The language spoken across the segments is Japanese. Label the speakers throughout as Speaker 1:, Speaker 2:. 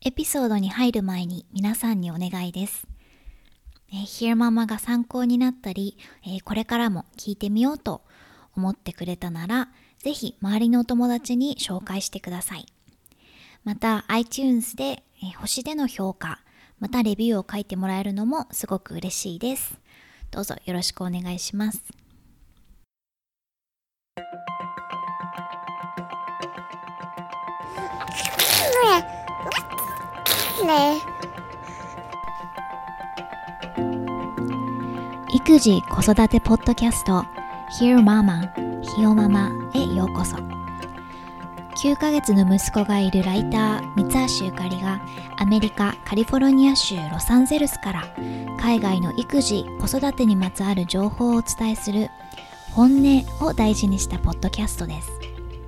Speaker 1: エピソードに入る前に皆さんにお願いです。Hear Mama が参考になったり、これからも聞いてみようと思ってくれたなら、ぜひ周りのお友達に紹介してください。また iTunes で星での評価、またレビューを書いてもらえるのもすごく嬉しいです。どうぞよろしくお願いします。育児子育てポッドキャスト Hear Mama ひよママへようこそ。9ヶ月の息子がいるライター三橋ゆかりがアメリカカリフォルニア州ロサンゼルスから海外の育児子育てにまつわる情報をお伝えする本音を大事にしたポッドキャストです。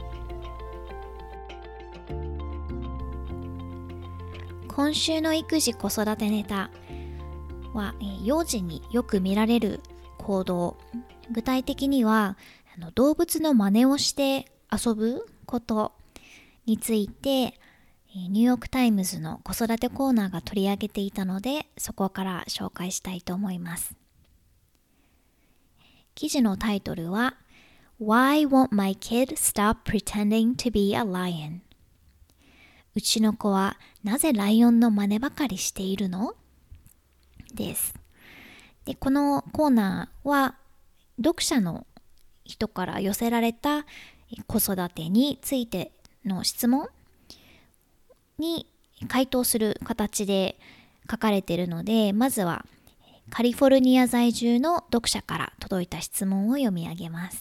Speaker 1: 今週の育児子育てネタは幼児によく見られる行動、具体的には動物の真似をして遊ぶことについてニューヨークタイムズの子育てコーナーが取り上げていたので、そこから紹介したいと思います。記事のタイトルは Why won't my kid stop pretending to be a lion? うちの子はなぜライオンの真似ばかりしているの？です。で、このコーナーは読者の人から寄せられた子育てについての質問に回答する形で書かれているので、まずはカリフォルニア在住の読者から届いた質問を読み上げます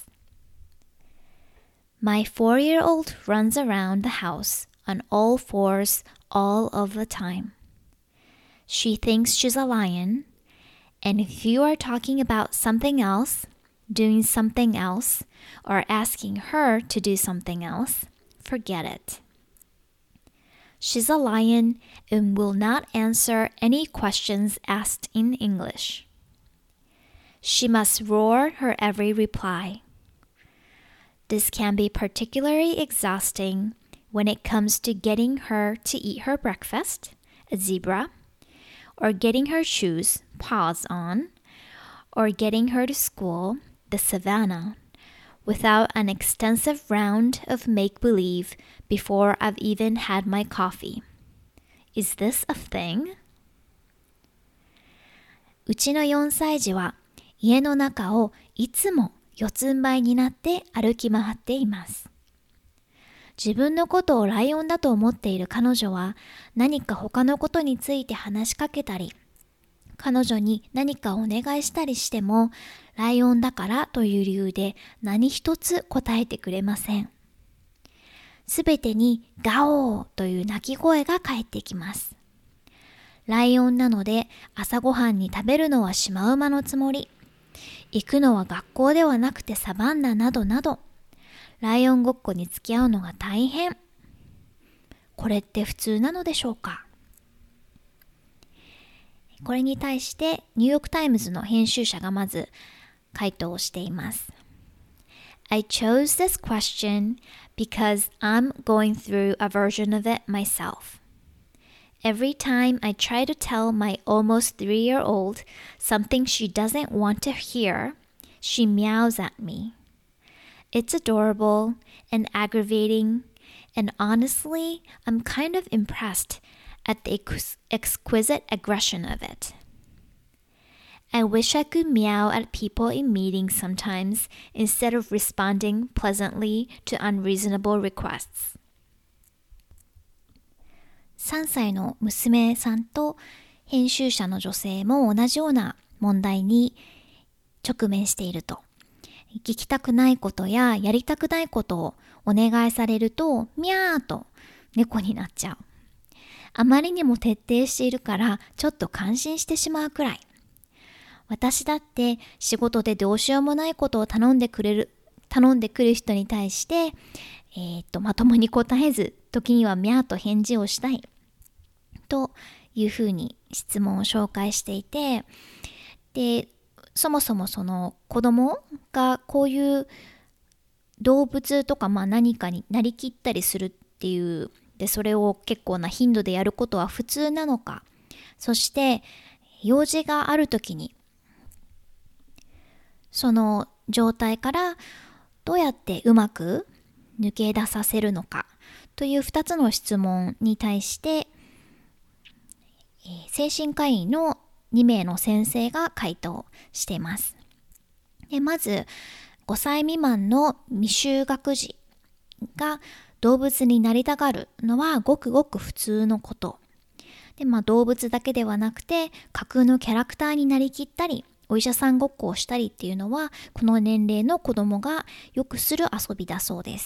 Speaker 1: 。My 4-year-old runs around the house on all fours all of the time. She thinks she's a lion, and if you are talking about something else, doing something else, or asking her to do something else, forget it. She's a lion and will not answer any questions asked in English. She must roar her every reply. This can be particularly exhausting when it comes to getting her to eat her breakfast, a zebra, or getting her shoes, paws on, or getting her to school, the savannah, without an extensive round of make-believe before I've even had my coffee. Is this a thing? うちの4歳児は家の中をいつも四つん這いになって歩き回っています。自分のことをライオンだと思っている彼女は何か他のことについて話しかけたり、彼女に何かお願いしたりしても、ライオンだからという理由で何一つ答えてくれません。すべてにガオーという鳴き声が返ってきます。ライオンなので朝ごはんに食べるのはシマウマのつもり。行くのは学校ではなくてサバンナなどなど。ライオンごっこに付き合うのが大変。これって普通なのでしょうか？これに対してニューヨークタイムズの編集者がまず回答をしています。I chose this question because I'm going through a version of it myself. Every time I try to tell my almost 3-year-old something she doesn't want to hear, she meows at me.It's adorable and aggravating, and honestly, I'm kind of impressed at the exquisite aggression of it. I wish I could meow at people in meetings sometimes instead of responding pleasantly to unreasonable requests. 3歳の娘さんと編集者の女性も同じような問題に直面していると。聞きたくないことややりたくないことをお願いされるとミャーと猫になっちゃう。あまりにも徹底しているからちょっと感心してしまうくらい。私だって仕事でどうしようもないことを頼んでくる人に対して、まともに答えず、時にはミャーと返事をしたいというふうに質問を紹介していて、でそもそもその子供がこういう動物とか何かになりきったりするっていうでそれを結構な頻度でやることは普通なのか、そして用事があるときにその状態からどうやってうまく抜け出させるのかという2つの質問に対して、精神科医の2名の先生が回答しています。でまず5歳未満の未就学児が動物になりたがるのはごくごく普通のこと。で、動物だけではなくて架空のキャラクターになりきったり、お医者さんごっこをしたりっていうのはこの年齢の子供がよくする遊びだそうです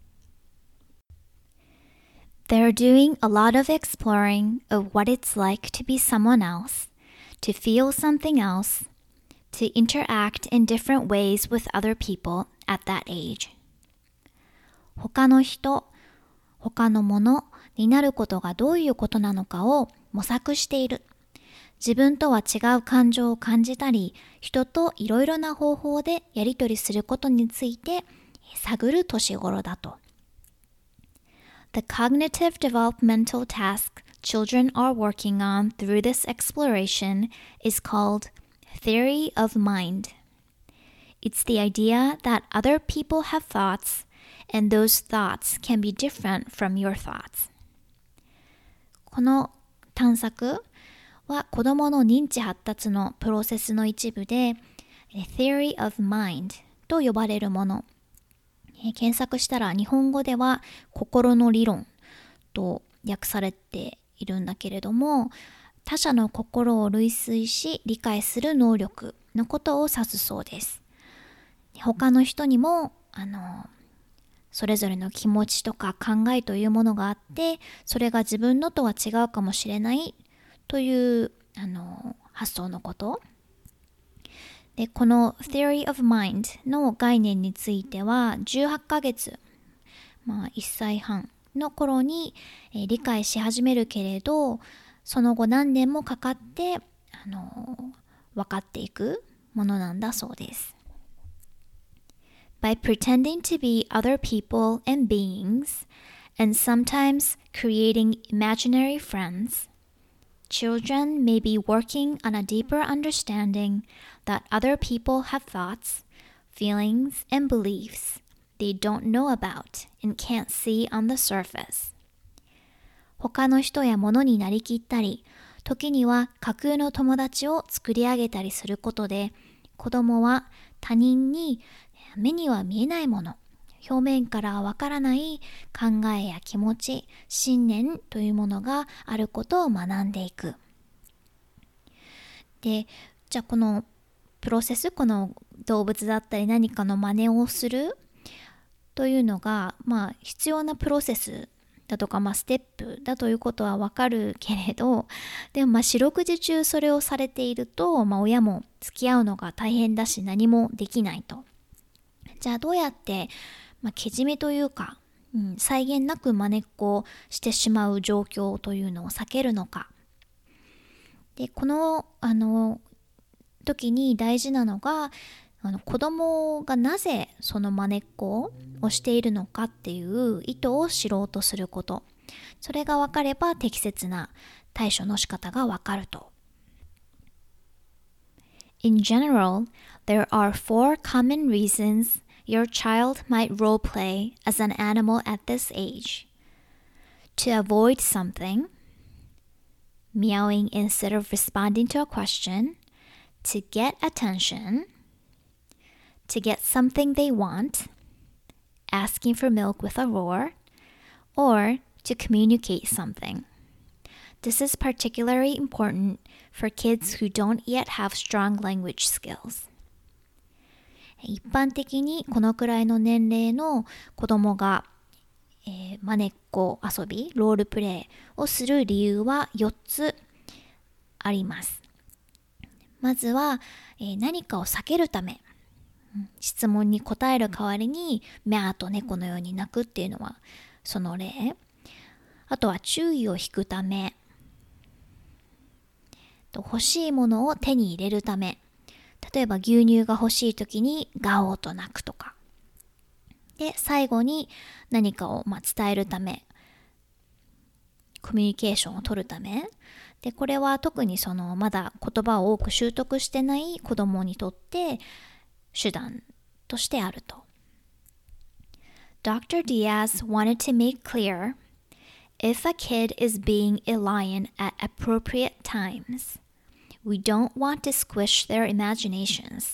Speaker 1: 。They're doing a lot of exploring of what it's like to be someone else, to feel something else, to interact in different ways with other people at that age. 他の人、他のものになることがどういうことなのかを模索している。自分とは違う感情を感じたり、人といろいろな方法でやり取りすることについて探る年頃だと。The cognitive developmental task children are working on through this exploration is called theory of mind. It's the idea that other people have thoughts, and those thoughts can be different from your thoughts. この探索は子どもの認知発達のプロセスの一部で Theory of Mind と呼ばれるもの。検索したら日本語では心の理論と訳されているんだけれども、他者の心を類推し理解する能力のことを指すそうです。他の人にもそれぞれの気持ちとか考えというものがあって、それが自分のとは違うかもしれないという発想のこと。で、この Theory of Mind の概念については18ヶ月、1歳半の頃に、理解し始めるけれど、その後何年もかかって分かっていくものなんだそうです。By pretending to be other people and beings, and sometimes creating imaginary friends, children may be working on a deeper understanding that other people have thoughts, feelings, and beliefs they don't know about and can't see on the surface. 他の人や物になりきったり、時には架空の友達を作り上げたりすることで、子供は他人に目には見えないもの、表面からわからない考えや気持ち、信念というものがあることを学んでいく。で、じゃあこのプロセス、この動物だったり何かの真似をするというのが、必要なプロセスだとか、ステップだということはわかるけれど、でも四六時中それをされていると、親も付き合うのが大変だし何もできないと。じゃあどうやってけじめというか、際限なく真似っこをしてしまう状況というのを避けるのか。で、この時に大事なのが、子供がなぜその真似っこをしているのかっていう意図を知ろうとすること。それが分かれば適切な対処の仕方が分かると。In general, there are 4 common reasons your child might role play as an animal at this age. To avoid something, meowing instead of responding to a question, to get attention, to get something they want, asking for milk with a roar, or to communicate something. This is particularly important for kids who don't yet have strong language skills. 一般的にこのくらいの年齢の子供が、真似っこ遊び、ロールプレイをする理由は4つあります。まずは、何かを避けるため、質問に答える代わりにミャーと猫のように鳴くっていうのはその例。あとは注意を引くため、欲しいものを手に入れるため、例えば牛乳が欲しい時にガオーと鳴くとか。で、最後に何かを伝えるため。 コミュニケーションを取るためで、これは特にまだ言葉を多く習得してない子供にとって手段としてあると。Dr. Diaz wanted to make clear if a kid is being a lion at appropriate times, we don't want to squish their imaginations.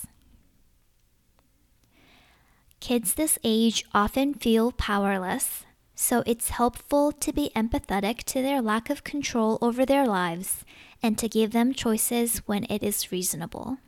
Speaker 1: Kids this age often feel powerless, so it's helpful to be empathetic to their lack of control over their lives and to give them choices when it is reasonable.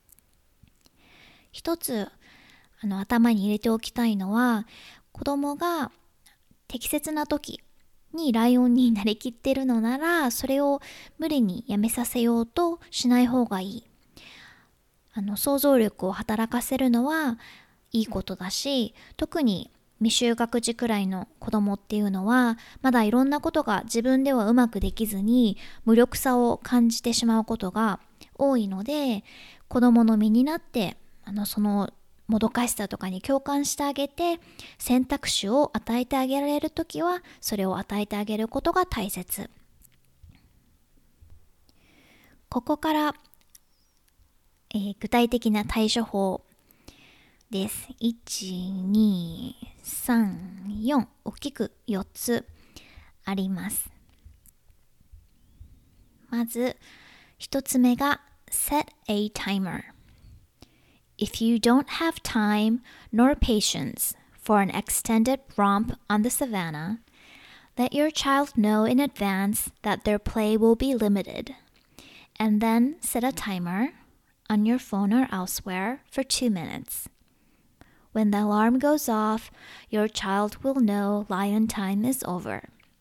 Speaker 1: 一つ頭に入れておきたいのは、子供が適切な時にライオンになりきっているのなら、それを無理にやめさせようとしない方がいい。想像力を働かせるのはいいことだし、特に未就学児くらいの子供っていうのはまだいろんなことが自分ではうまくできずに無力さを感じてしまうことが多いので、子供の身になってそのもどかしさとかに共感してあげて、選択肢を与えてあげられるときはそれを与えてあげることが大切。ここから、具体的な対処法です。1、2、3、4、大きく4つあります。まず1つ目が Set a timer.If you don't have time nor patience for an extended romp on the savannah, let your child know in advance that their play will be limited, and then set a timer on your phone or elsewhere for 2 minutes. When the alarm goes off, your child will know lion time is over.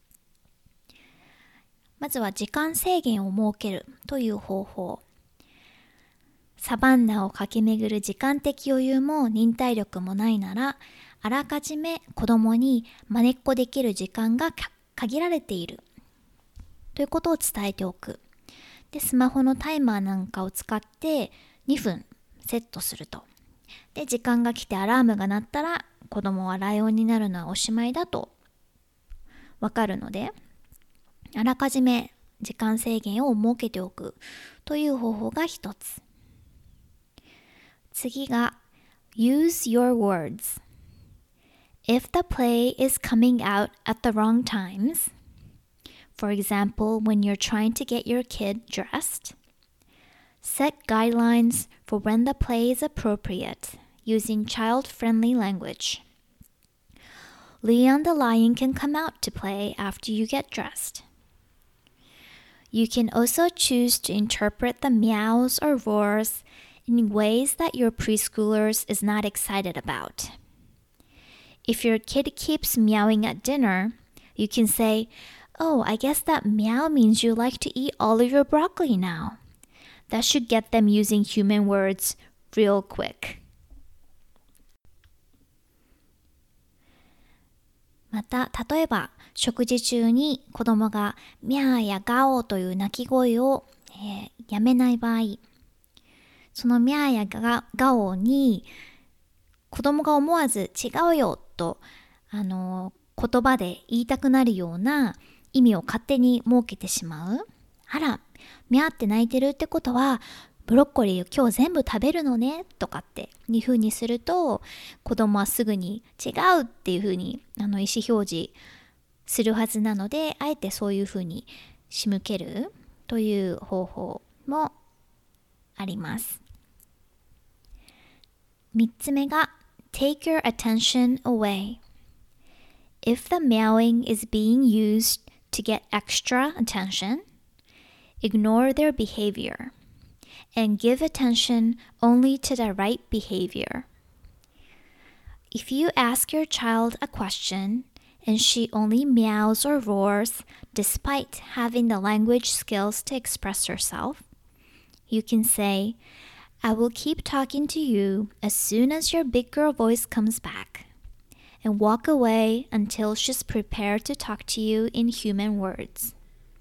Speaker 1: まずは時間制限を設けるという方法。サバンナを駆け巡る時間的余裕も忍耐力もないなら、あらかじめ子供にまねっこできる時間が限られているということを伝えておく。で、スマホのタイマーなんかを使って2分セットすると。で、時間が来てアラームが鳴ったら子供はライオンになるのはおしまいだとわかるので、あらかじめ時間制限を設けておくという方法が一つ。次が Use your words. If the play is coming out at the wrong times, for example, when you're trying to get your kid dressed, set guidelines for when the play is appropriate using child-friendly language. Leon the lion can come out to play after you get dressed. You can also choose to interpret the meows or roars in ways that your preschoolers is not excited about. If your kid keeps meowing at dinner, you can say, "Oh, I guess that meow means you like to eat all of your broccoli now." That should get them using human words real quick. また、例えば食事中に子供がミャーやガオという鳴き声を、やめない場合、そのミャーやガオに子供が思わず違うよと言葉で言いたくなるような意味を勝手に設けてしまう。あら、ミャーって鳴いてるってことはブロッコリーを今日全部食べるのねとかっていう風にすると、子供はすぐに違うっていう風に意思表示するはずなので、あえてそういう風に仕向けるという方法もあります。3つ目が Take your attention away. If the meowing is being used to get extra attention, ignore their behavior and give attention only to the right behavior. If you ask your child a question and she only meows or roars despite having the language skills to express herself, you can say, "I will keep talking to you as soon as your big girl voice comes back," and walk away until she's prepared to talk to you in human words.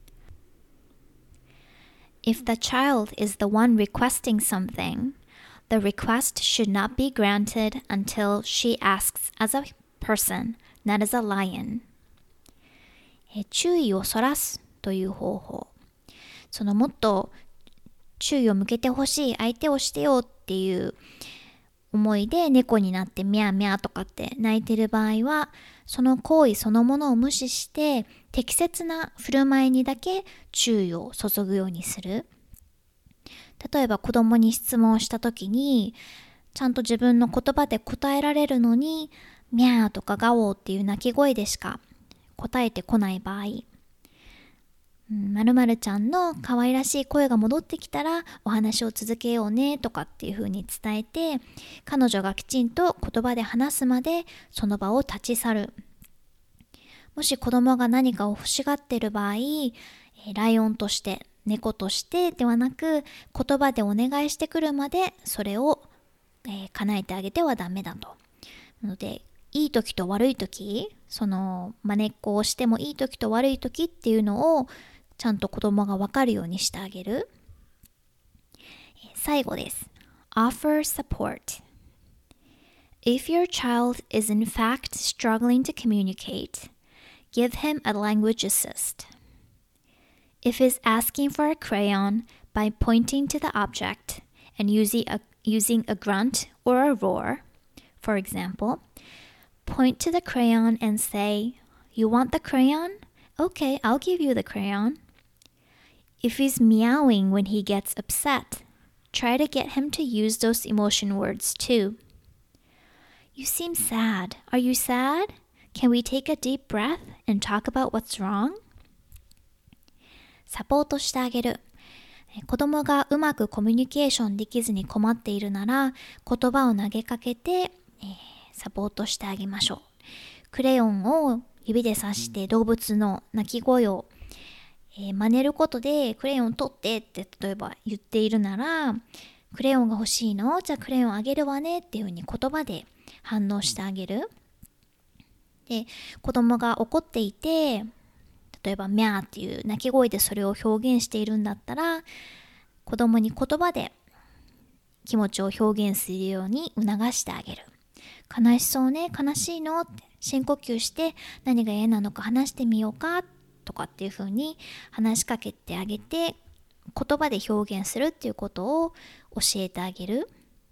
Speaker 1: If the child is the one requesting something, the request should not be granted until she asks as a person, not as a lion. 注意をそらすという方法。そのもっと注意を向けてほしい相手をしてよっていう思いで猫になってミャーミャーとかって鳴いてる場合は、その行為そのものを無視して適切な振る舞いにだけ注意を注ぐようにする。例えば子供に質問をした時にちゃんと自分の言葉で答えられるのにミャーとかガオーっていう鳴き声でしか答えてこない場合、〇〇ちゃんの可愛らしい声が戻ってきたらお話を続けようねとかっていう風に伝えて、彼女がきちんと言葉で話すまでその場を立ち去る。もし子供が何かを欲しがっている場合、ライオンとして猫としてではなく言葉でお願いしてくるまでそれを、叶えてあげてはダメだと。なのでいい時と悪い時、その真似っこをしてもいい時と悪い時っていうのをちゃんと子供が分かるようにしてあげる。最後です。Offer support. If your child is in fact struggling to communicate, give him a language assist. If he's asking for a crayon by pointing to the object and using a grunt or a roar, for example, point to the crayon and say, "You want the crayon? Okay, I'll give you the crayon."If he's meowing when he gets upset, try to get him to use those emotion words too. You seem sad. Are you sad? Can we take a deep breath and talk about what's wrong? サポートしてあげる。子供がうまくコミュニケーションできずに困っているなら、言葉を投げかけて、サポートしてあげましょう。クレヨンを指で指して動物の鳴き声を真似ることでクレヨン取ってって例えば言っているなら、クレヨンが欲しいの？じゃあクレヨンあげるわねっていうふうに言葉で反応してあげる。で、子供が怒っていて、例えばミャーっていう鳴き声でそれを表現しているんだったら、子供に言葉で気持ちを表現するように促してあげる。悲しそうね、悲しいのって深呼吸して何が嫌なのか話してみようかとかっていう風に話しかけてあげて、言葉で表現するっていうことを教えてあげる。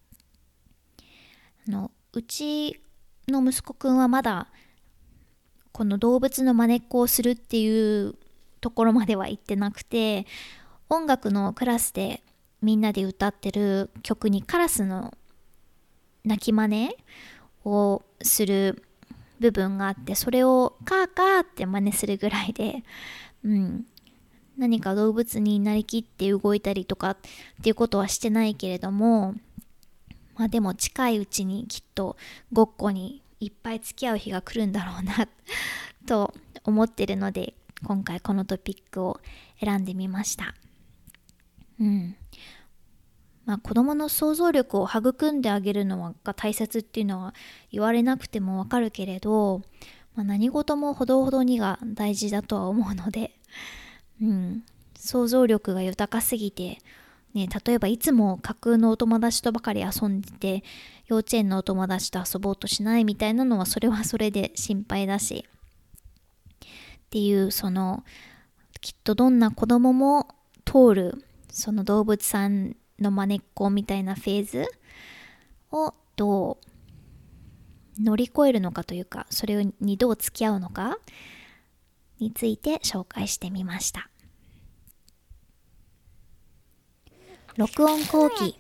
Speaker 1: うちの息子くんはまだこの動物の真似っこをするっていうところまでは行ってなくて、音楽のクラスでみんなで歌ってる曲にカラスの鳴き真似をする部分があって、それをカーカーって真似するぐらいで、何か動物になりきって動いたりとかっていうことはしてないけれども、でも近いうちにきっとごっこにいっぱい付き合う日が来るんだろうなと思ってるので、今回このトピックを選んでみました。子供の想像力を育んであげるのが大切っていうのは言われなくてもわかるけれど、何事もほどほどにが大事だとは思うので、想像力が豊かすぎて、例えばいつも架空のお友達とばかり遊んでて、幼稚園のお友達と遊ぼうとしないみたいなのはそれはそれで心配だしっていう、きっとどんな子供も通るその動物さんの真似っこみたいなフェーズをどう乗り越えるのかというか、それにどう付き合うのかについて紹介してみました。録音後期。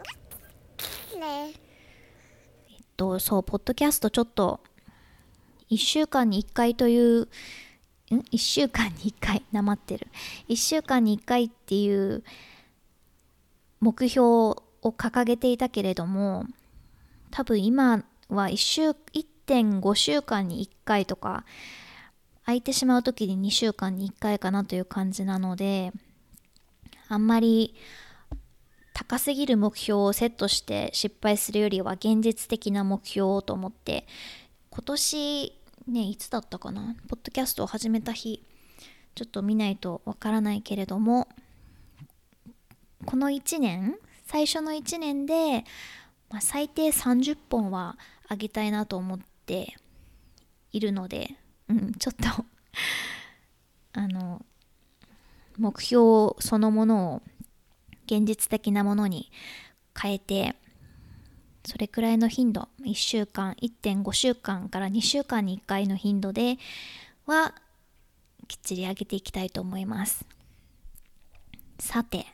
Speaker 1: そう、ポッドキャストちょっと1週間に1回という1週間に1回なまってる1週間に1回っていう目標を掲げていたけれども、多分今は1.5 週間に1回とか空いてしまう時に2週間に1回かなという感じなので、あんまり高すぎる目標をセットして失敗するよりは現実的な目標をと思って、今年いつだったかな、ポッドキャストを始めた日ちょっと見ないとわからないけれども、この1年最初の1年で、最低30本は上げたいなと思っているので、ちょっと目標そのものを現実的なものに変えて、それくらいの頻度、1週間、1.5週間から2週間に1回の頻度ではきっちり上げていきたいと思います。さて、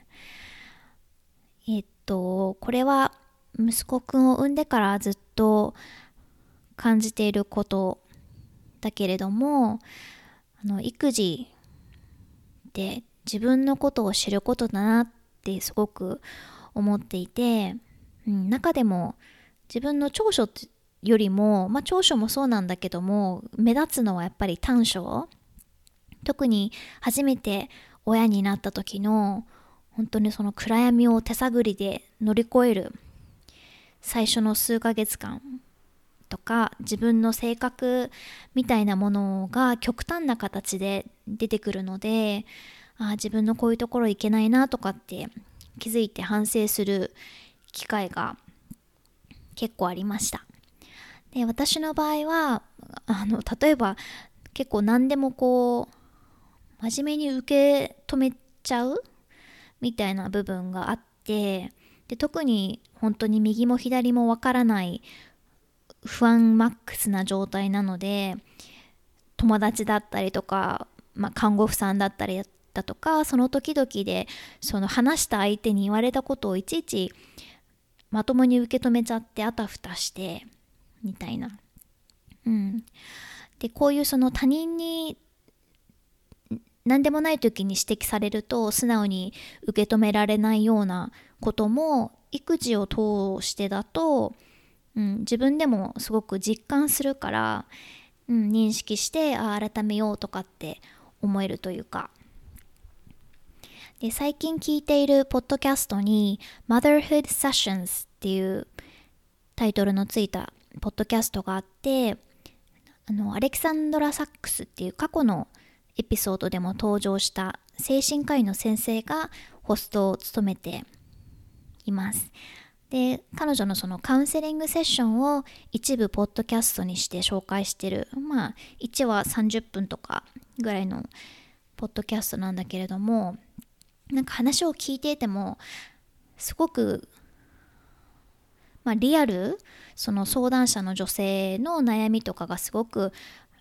Speaker 1: これは息子くんを産んでからずっと感じていることだけれども、育児って自分のことを知ることだなってすごく思っていて、中でも自分の長所よりも、長所もそうなんだけども、目立つのはやっぱり短所。特に初めて親になった時の本当にその暗闇を手探りで乗り越える最初の数ヶ月間とか、自分の性格みたいなものが極端な形で出てくるので、自分のこういうところいけないなとかって気づいて反省する機会が結構ありました。で、私の場合は例えば結構何でも真面目に受け止めちゃうみたいな部分があって、で特に本当に右も左もわからない不安マックスな状態なので、友達だったりとか、看護婦さんだったりだとか、その時々でその話した相手に言われたことをいちいちまともに受け止めちゃってあたふたしてみたいな。でこういうその他人に何でもない時に指摘されると素直に受け止められないようなことも育児を通してだと、自分でもすごく実感するから、認識して改めようとかって思えるというか。で、最近聞いているポッドキャストに Motherhood Sessions っていうタイトルのついたポッドキャストがあって、アレキサンドラ・サックスっていう過去のエピソードでも登場した精神科医の先生がホストを務めています。で、彼女のそのカウンセリングセッションを一部ポッドキャストにして紹介してる、1話30分とかぐらいのポッドキャストなんだけれども、なんか話を聞いていてもすごくリアル、その相談者の女性の悩みとかがすごく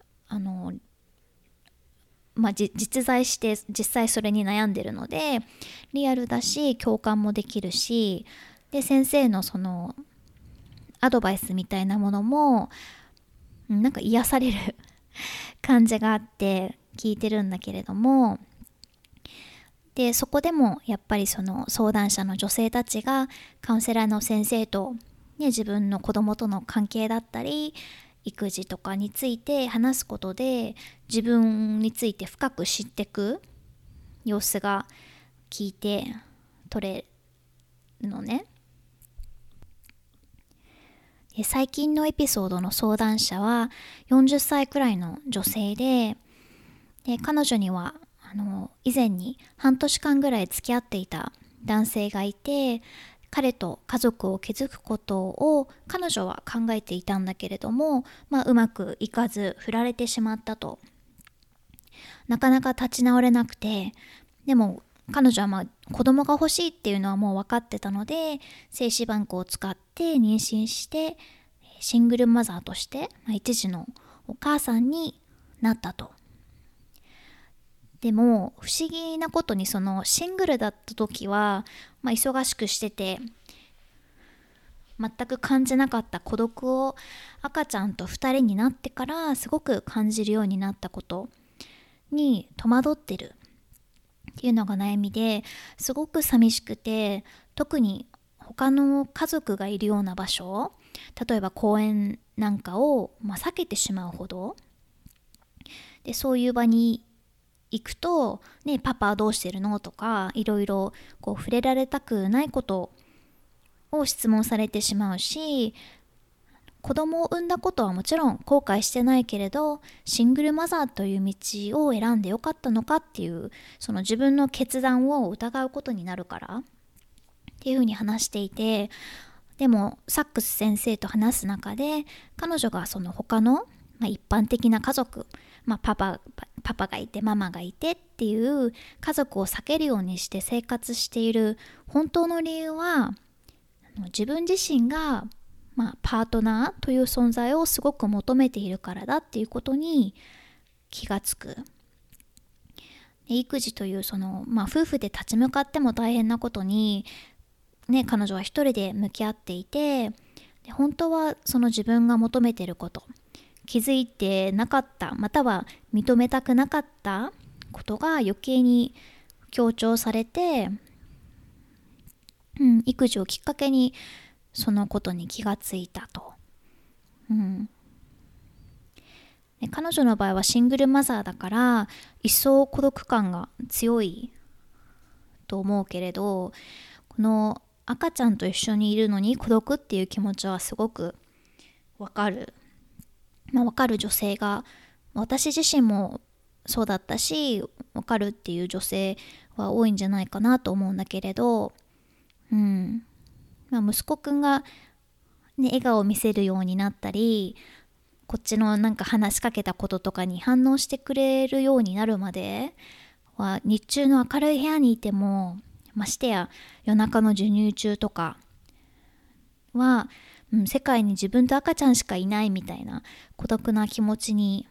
Speaker 1: 実在して実際それに悩んでるのでリアルだし共感もできるし、で先生のそのアドバイスみたいなものもなんか癒される感じがあって聞いてるんだけれども、でそこでもやっぱりその相談者の女性たちがカウンセラーの先生と、自分の子供との関係だったり育児とかについて話すことで自分について深く知っていく様子が聞いて取れるのね。で最近のエピソードの相談者は40歳くらいの女性で、彼女には以前に半年間ぐらい付き合っていた男性がいて、彼と家族を築くことを彼女は考えていたんだけれども、うまくいかず振られてしまったと。なかなか立ち直れなくて、でも彼女は子供が欲しいっていうのはもう分かってたので、精子バンクを使って妊娠してシングルマザーとして、一児のお母さんになったと。でも不思議なことにそのシングルだった時は、忙しくしてて全く感じなかった孤独を赤ちゃんと2人になってからすごく感じるようになったことに戸惑ってるっていうのが悩みで、すごく寂しくて、特に他の家族がいるような場所、例えば公園なんかを避けてしまうほどで、そういう場に行くと、パパはどうしてるのとかいろいろ触れられたくないことを質問されてしまうし、子供を産んだことはもちろん後悔してないけれど、シングルマザーという道を選んでよかったのかっていう、その自分の決断を疑うことになるからっていうふうに話していて、でもサックス先生と話す中で彼女がその他の、一般的な家族、 パパがいてママがいてっていう家族を避けるようにして生活している本当の理由は、自分自身が、パートナーという存在をすごく求めているからだっていうことに気がつく。育児という夫婦で立ち向かっても大変なことに、彼女は一人で向き合っていて、本当はその自分が求めていること、気づいてなかった、または認めたくなかったことが余計に強調されて、育児をきっかけにそのことに気がついたと。彼女の場合はシングルマザーだから一層孤独感が強いと思うけれど、この赤ちゃんと一緒にいるのに孤独っていう気持ちはすごくわかる。わかる女性が、私自身もそうだったし、わかるっていう女性は多いんじゃないかなと思うんだけれど、息子くんが、笑顔を見せるようになったり、こっちの話しかけたこととかに反応してくれるようになるまでは、日中の明るい部屋にいても、ましてや夜中の授乳中とかは、世界に自分と赤ちゃんしかいないみたいな孤独な気持ちに、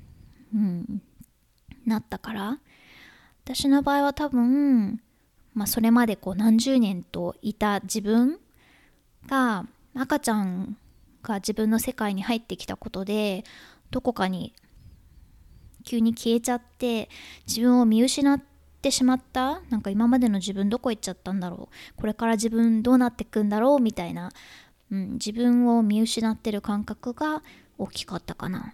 Speaker 1: なったから、私の場合は多分、それまで何十年といた自分が、赤ちゃんが自分の世界に入ってきたことで、どこかに急に消えちゃって自分を見失ってしまった。今までの自分どこ行っちゃったんだろう、これから自分どうなってくんだろうみたいな、自分を見失ってる感覚が大きかったかな。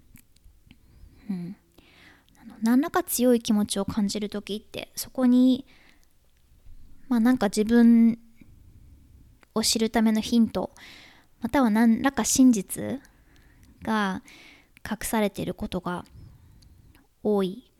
Speaker 1: 何らか強い気持ちを感じるときって、そこに自分を知るためのヒント、または何らか真実が隠されていることが多い。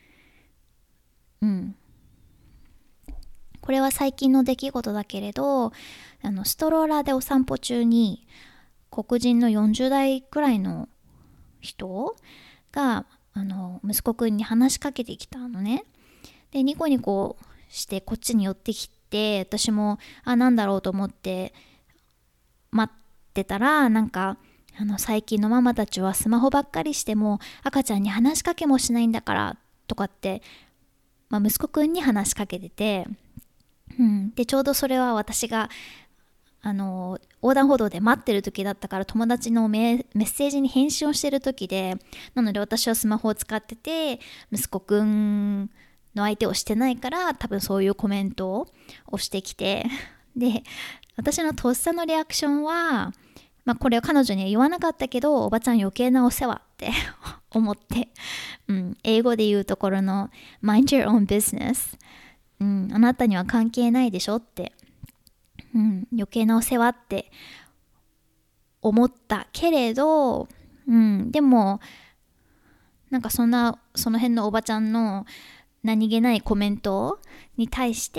Speaker 1: これは最近の出来事だけれど、ストローラーでお散歩中に黒人の40代くらいの人が息子くんに話しかけてきたのね。で、ニコニコしてこっちに寄ってきて、私もなんだろうと思って待ってたら、最近のママたちはスマホばっかりしても赤ちゃんに話しかけもしないんだからとかって、息子くんに話しかけてて、でちょうどそれは私が横断歩道で待ってる時だったから、友達のメッセージに返信をしてる時で、なので私はスマホを使ってて、息子くんの相手をしてないから、多分そういうコメントをしてきて、で私のとっさのリアクションは、これは彼女には言わなかったけど、おばちゃん余計なお世話って思って、英語で言うところの mind your own business、あなたには関係ないでしょって、余計なお世話って思ったけれど、でもその辺のおばちゃんの何気ないコメントに対して、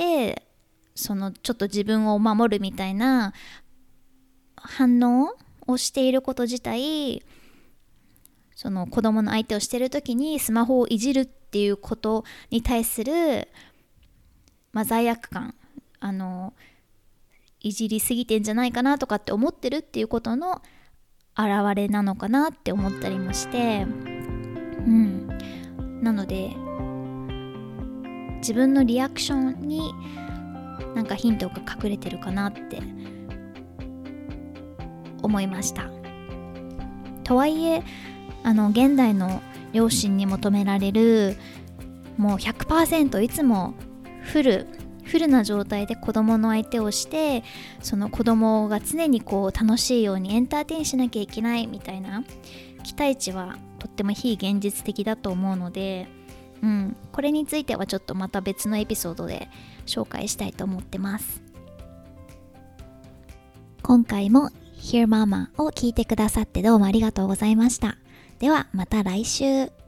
Speaker 1: ちょっと自分を守るみたいな反応をしていること自体、その子供の相手をしている時にスマホをいじるっていうことに対する、罪悪感、いじりすぎてんじゃないかなとかって思ってるっていうことの表れなのかなって思ったりもして、なので自分のリアクションにヒントが隠れてるかなって思いました。とはいえ現代の両親に求められる、もう 100% いつもフルな状態で子供の相手をして、その子供が常に楽しいようにエンターテインしなきゃいけないみたいな期待値はとっても非現実的だと思うので、これについてはちょっとまた別のエピソードで紹介したいと思ってます。今回も Hear Mama を聞いてくださってどうもありがとうございました。ではまた来週。